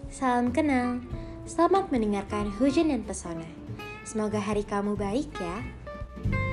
salam kenal. Selamat mendengarkan Hujan dan Pesona. Semoga hari kamu baik ya.